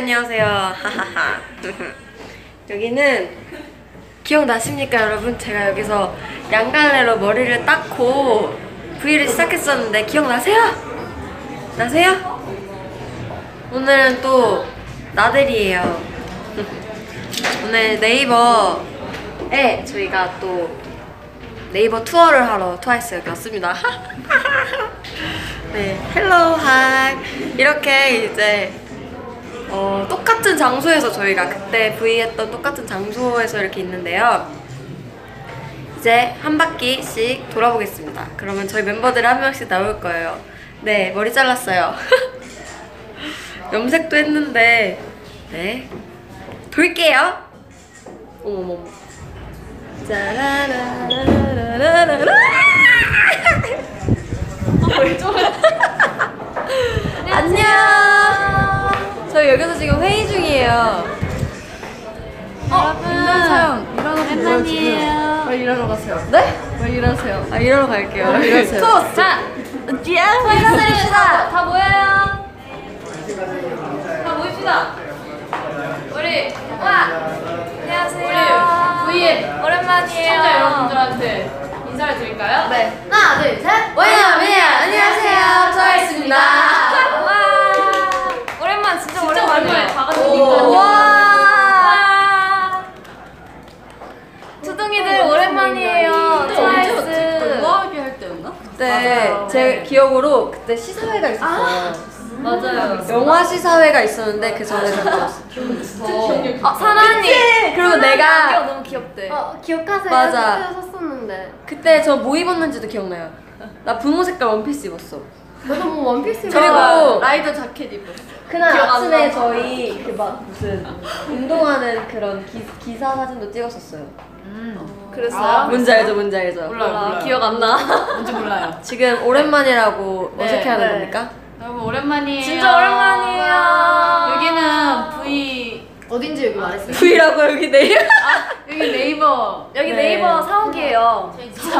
안녕하세요. 하하하. 여기는 기억나십니까 여러분? 제가 여기서 양갈래로 머리를 닦고 V를 시작했었는데 기억나세요? 나세요? 오늘은 또 나들이에요. 오늘 네이버에 저희가 또 네이버 투어를 하러 트와이스 여기 왔습니다. 네, 헬로 하이. 이렇게 이제 똑같은 장소에서 저희가 그때 V 했던 똑같은 장소에서 이렇게 있는데요. 이제 한 바퀴씩 돌아보겠습니다. 그러면 저희 멤버들이 한 명씩 나올 거예요. 네, 머리 잘랐어요. 염색도 했는데 네, 돌게요. 어머머머. 짜라라라라라라. 왜 저래? 안녕. 저희 여기서 지금 회의 중이에요. 여러분 오랜만이에요. 왜 일하러 가세요? 네? 왜 일하세요? 아, 일하러 갈게요. 일하세요. 토스! 자! 인사드립시다! 다 모여요! 다 모입시다! 우리 안녕하세요. 우리 V앱 오랜만이에요. 시청자 여러분들한테 인사를 드릴까요? 네. 하나, 둘, 셋. 와이너미야. 안녕하세요. 트와이스입니다. 와! 오랜만, 진짜 오랜만에 다 같이 보니까. 와. 투둥이들 오랜만이에요. 트와이스. 우아하게 할 때였나? 네, 맞아요. 제 기억으로 그때 시사회가 있었어요. 맞아요. 영화 시사회가 있었는데 그 전에 갔었어. 사나 언니. 그리고 내가 너무 귀엽대. 기억하세요? 맞아. 그때 샀었는데. 그때 저 뭐 입었는지도 기억나요. 나 분홍 색깔 원피스 입었어. 저도 뭐 원피스 그리고 라이더 자켓 입었어. 그날 기억 안 아침에 나. 저희 그 막 무슨 운동하는 그런 기사 사진도 찍었었어요. 그랬어요? 뭔지 알죠? 뭔지 알죠? 몰라요. 기억 안 나. 뭔지 몰라요. 지금 오랜만이라고 네, 어색해하는 네. 겁니까? 여러분 오랜만이에요. 진짜 오랜만이에요. 여기는 V 어딘지 여기 말했어요. V라고 여기 내일. 여기 네이버. 여기 네. 네이버 사옥이에요.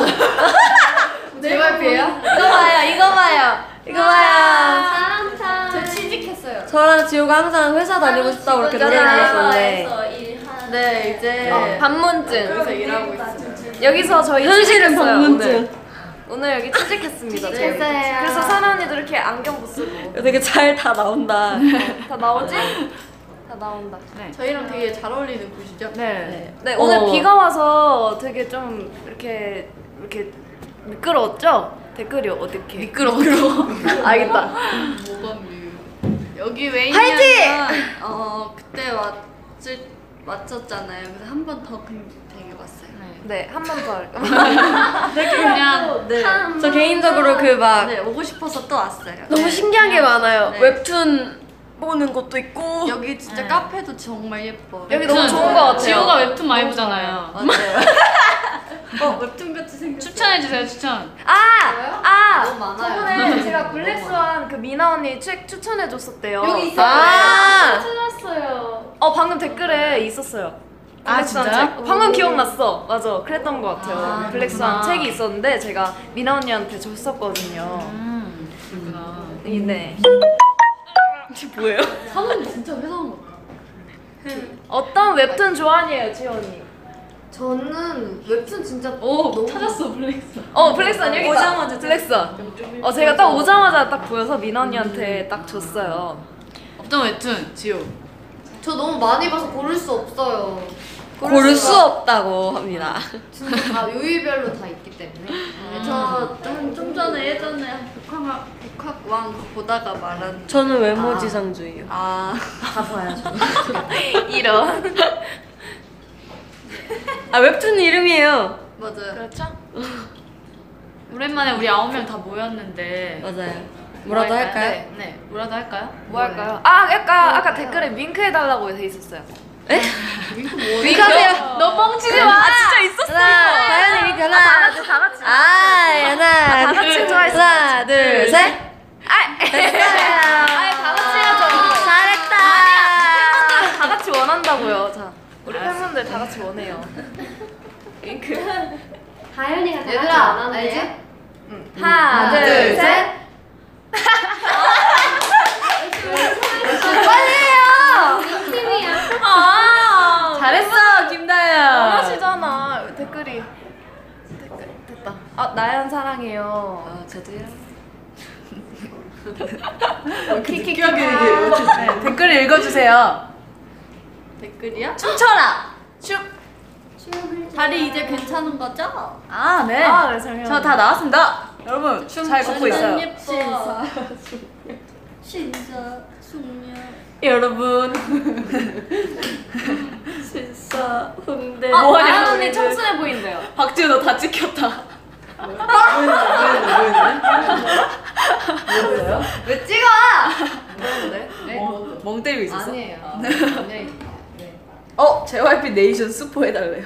JYP예요? 이거 봐요, 이거 봐요. 이거 봐요. 저 취직했어요. 저랑 지호가 항상 회사 다니고 싶다고 이렇게 노래를 불렀었는데 네 이제 반문증. 여기서 일하고 있어요. 여기서 저희 현실은 취직했어요, 방문증. 오늘 여기 취직했습니다. 저희. 취직했어요. 그래서 사나 언니도 이렇게 안경도 쓰고 되게 잘 다 나온다. 다 나오지? 다 나온다. 저희랑 되게 잘 어울리는 곳이죠? 네. 네, 오늘 어. 비가 와서 되게 좀 이렇게 미끄러웠죠? 댓글이 어떻게? 미끄러워. 알겠다. 뭐가 여기 왜 화이팅! 있냐면 그때 왔었잖아요. 그래서 한 번 더 되게 왔어요. 네, 한 번 더 할까? 그냥 네. 저 개인적으로 그 막 네 오고 싶어서 또 왔어요. 너무 신기한 게 많아요. 네. 웹툰 보는 것도 있고. 여기 진짜 카페도 정말 예뻐. 여기 너무 좋은 것 같아요. 지호가 웹툰 많이 보잖아요. 맞아요. 웹툰 같이 생겼어. 추천해주세요, 추천. 너무 많아요. 저번에 제가 블랙스완 그 미나 언니 책 추천해줬었대요. 여기 있어요. 아. 찾았어요. 방금 댓글에 있었어요. 아, 블랙스완 진짜요? 책. 방금 기억났어. 맞아, 그랬던 것 같아요. 아, 블랙스완 그렇구나. 책이 있었는데 제가 미나 언니한테 줬었거든요. 그렇구나. 네. 이게 뭐예요? 사람 진짜 회사원 같아. 어떤 웹툰 좋아하니에요, 지호 언니? 저는 웹툰 진짜 오, 찾았어, 블랙스. 블랙스완 여기 오자마자 있다. 블랙스완. 제가 딱 오자마자 딱 보여서 미나 언니한테 딱 줬어요. 어떤 웹툰, 지호? 저 너무 많이 봐서 고를 수 없어요. 고를 수 없다고 합니다. 진짜 다 요일별로 다 있기 때문에. 좀 전에 예전에 복학왕 보다가 말한. 저는 외모지상주의요. 아 다 봐야죠. 이런. 아, 웹툰 이름이에요. 맞아요. 그렇죠? 오랜만에 우리 9명 다 모였는데. 맞아요. 뭐라도 할까요? 네, 뭐라도 할까요? 뭐 할까요? 아까 댓글에 윙크 해달라고 돼 있었어요. 에? 윙크하세요. 너 뻥치지 마. 진짜 있었어. 하나, 다현이 윙크 하나. 다 같이. 하나, 다 같이 둘, 좋아했어. 하나, 둘, 셋. 됐어요. 다 같이 해야죠. 잘했다. 팬분들 다 같이 원한다고요. 자, 우리 팬분들 다 같이 원해요. 윙크. 다현이가 다 얘들아, 같이 안 하는데? 알지? 하나, 둘, 셋. 빨리 해요. 나연 사랑해요. 저도요. 키키키. 네, 댓글 읽어주세요. 댓글이야? 춤춰라. 다리 이제 괜찮은 거죠? 아 네. 네, 정말. 저 다 나왔습니다. 여러분 잘 걷고 있어요. 예뻐. 신사 숙녀. 여러분. 진짜 홍대. 뭐하냐, 나연 언니 너희들. 청순해 보인대요. 박지우 너 다 찍혔다. 왜 찍어? 멍 때리고 있었어? 아니에요. JYP 네이션 스포 해달래요.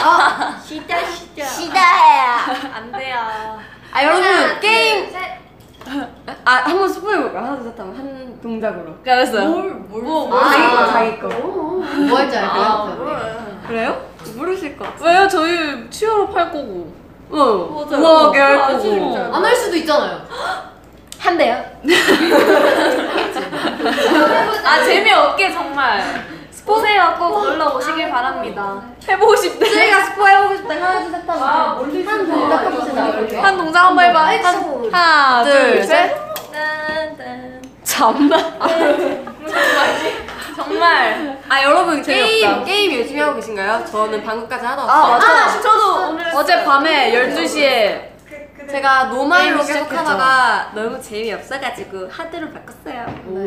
시다해요. 안 돼요. 아 여러분 게임 한번 스포해볼까? 하나 둘셋 하면 한 동작으로. 알았어요. 자기 거. 뭐 할지 알 것 같아요. 그래요? 모르실 것 같아. 왜요? 저희 치어로 팔 거고. 우아하게 할 거고. 안 할 수도 있잖아요. 한대요. 재미없게 정말. 스포세요. 꼭 놀러 오시길 바랍니다. 해보고 싶대. 저희가 스포 해보고 싶다. 하나 둘셋 하면 한 동작 해봅시다. 한 동작 한번 해봐. 하나, 둘, 셋. 잠만. 정말. 아 여러분 재미없다. 게임 열심히 하고 계신가요? 저는 방금까지 하다 아 왔어요. 맞아. 저도 오늘 어젯밤에 12시에 제가 노말로 게임 계속 하다가 너무 재미없어가지고 하드로 바꿨어요.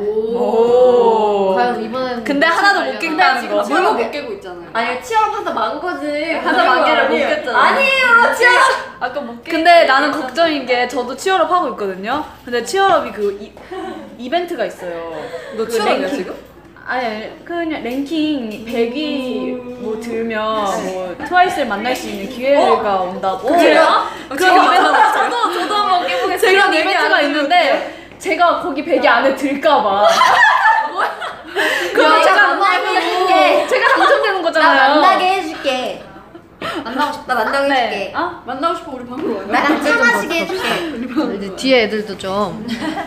오. 과연 이번엔 근데 하나도 못 깬다는 거. 뭘로 못 깨고 있잖아요. 아니 치얼업 하다 만 거지. 하다 만 개를 못 깼잖아. 아니에요 치얼업. 아까 못 깨. 근데 나는 걱정인 게 저도 치얼업 하고 있거든요. 근데 치얼업이 그 이벤트가 있어요. 너 그 치얼업이야 랭킹. 지금? 아니 그냥 랭킹 100위 뭐 들면 뭐 트와이스를 만날 수 있는 기회가 온다고. 그래요? 그런 이벤트 저도 한번 깨보겠습니다. 그런 이벤트가 있는데 제가 거기 100위 안에 들까봐. 그럼 제가 당첨되는 거잖아요. 해줄게. 만나고 싶다. 만나고 네. 만나고 싶어 우리 방으로 와요. 나랑 차 마시게 해줄게. 이제 뒤에 애들도 좀.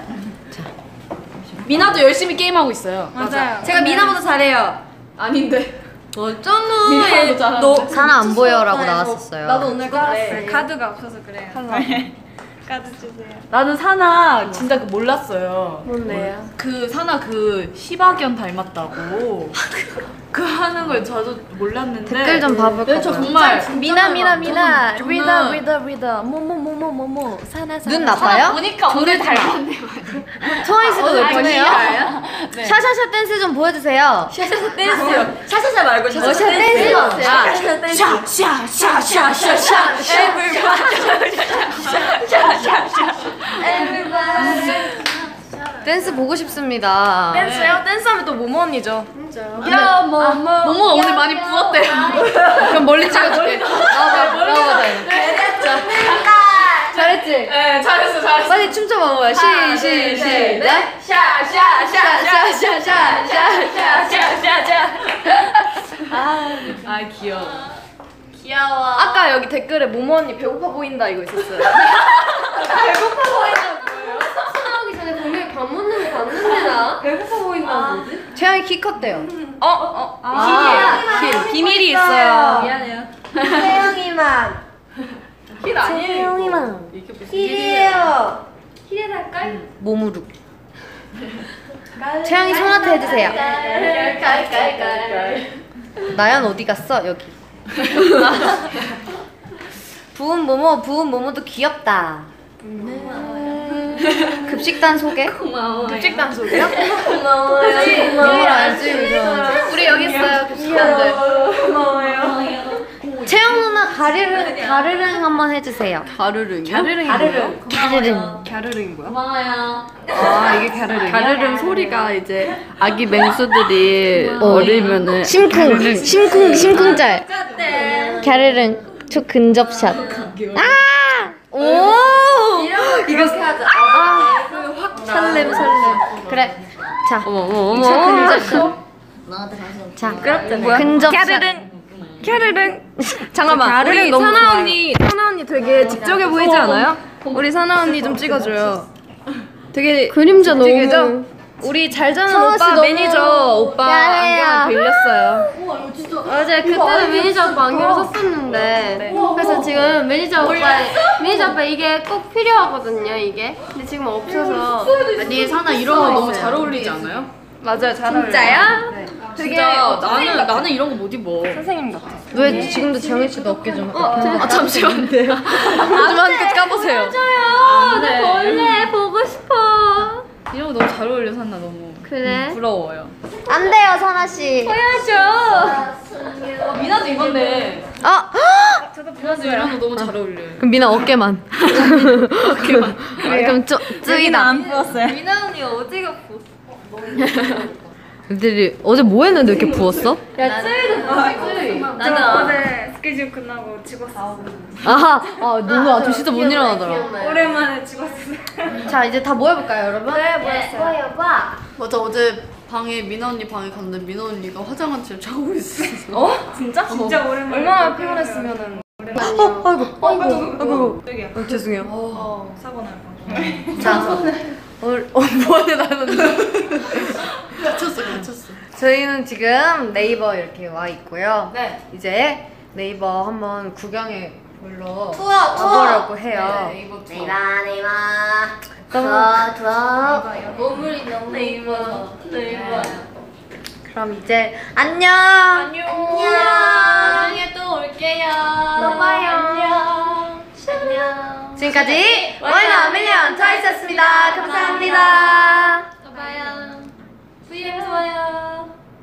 미나도 열심히 게임하고 있어요. 맞아요. 제가 미나보다 잘해요. 아닌데. 어쩐 미나보다 잘하는데. 너 사나 안 보여라고 나왔었어요. 나도 오늘 깔았어. 카드가 없어서 그래요. 카드 주세요. 나는 사나 진짜 그 몰랐어요. 뭔데요? 그 사나 그 시바견 닮았다고. 그 하는 걸 저도 몰랐는데. 댓글 좀 봐볼까요? 저 정말 미나 저는- 리더 뭐뭐뭐뭐뭐뭐 사나 눈 나빠요? 보니까 둘을 닮았네. 트와이스도 예쁘네요. 네. 샤샤샤 댄스 좀 보여주세요. 샤샤샤 댄스요. 샤샤샤 말고 샤샤샤 샤샤 댄스. 샤샤샤 댄스. 댄스 보고 싶습니다. 댄스요? 댄스하면 또 모모 언니죠. 야 뭐뭐. 모모가 오늘 많이 부었대요. 그럼 멀리 찍어줄게. 나와봐. 잘했지? 네, 잘했어. 빨리 춤춰봐, 뭐야. 시작. 아 귀여워. 귀여워. 아까 여기 댓글에 모모 언니 배고파 보인다 이거 있었어요. 나오기 전에 분명히 밥 먹는 거 봤는데 나. 배고파 보인다는 뭐지? 채영이 키 컸대요. 힐. 비밀이 있어요. 미안해요. 태영이만. 힐 아니에요. 태영이만. 힐이에요. 모무룩. 채영이 손아트 해주세요. 나연 어디 갔어? 여기. 부은 모모도 귀엽다. 급식단 소개? 급식단 소개요? 모모를 알지? 우리 여기 있어요. 급식단들. 고마워요. 채영 누나 가르릉 한번 해주세요. 가르릉이요? 가르릉. 갸르릉 뭐야? 고마워요. 아 이게 가르릉. 가르릉 소리가 이제 아기 맹수들이 어리면은 심쿵짤. 가르릉 초 근접샷. 아! 오! 이렇게 하자. 설렘. 그래. 자. 어머 초 근접샷. 자. 근접샷. 갸르릉 잠깐만 우리 사나 언니 되게 직접해 보이지 않아요? 우리 사나 언니 좀 찍어줘요. 되게 그림자 너무. 우리 잘 자는 서아 씨 오빠 너무 매니저 오빠 야해요. 안경을 빌렸어요. 맞아요. 그때는 매니저 오빠 안경을 썼었는데 그래서 지금 매니저 오빠 이게 꼭 필요하거든요. 이게 근데 지금 없어서. 아니 사나 이런 거 너무 잘 어울리지 않아요? 맞아요, 잘 어울려요. 진짜요? 진짜 나는 이런 거 못 입어. 선생님 같아. 왜 지금도 재영이 씨도 어깨 좀. 잠시만요. 하지만 끝 까보세요. 나 벌레 보고 싶어. 이런 거 너무 잘 어울려 산나 너무. 그래? 부러워요. 안 돼요, 선아 씨. 미나도 입었네. 아, 미나도 이런 거 너무 잘 어울려. 그럼 미나 어깨만. 어깨만. 그럼 쯔이다. 안 부었어요. 미나 언니 어디가 부었어? 애들이 어제 뭐 했는데 이렇게 부었어? 나는 어제 스케줄 끝나고 찍었어. 아하, 너무 아주 진짜 못 일어나더라. 오랜만에 찍었어. 자, 이제 다 모여볼까요, 여러분? 네, 모였어요. 맞아 어제 방에 미나 언니 방에 갔는데 미나 언니가 화장한 채 자고 있었어. 진짜? 진짜 오랜만에. 얼마나 피곤했으면은. 아이고. 죄송해요. 사고 날 뻔. 자, 오늘 뭐하냐 나는. 갇혔어. 저희는 지금 네이버 이렇게 와 있고요. 네. 이제 네이버 한번 구경해 보러 투어. 와보려고 해요. 네, 네이버 투어. 네이버. 투어. 보물이 너무 예뻐. 네이버. 그럼 이제 안녕. 나중에 또 올게요. 또 봐요. 안녕. 지금까지 원이나 밀리언 트와이스였습니다. 감사합니다. 또 봐요. VM에서 봐요.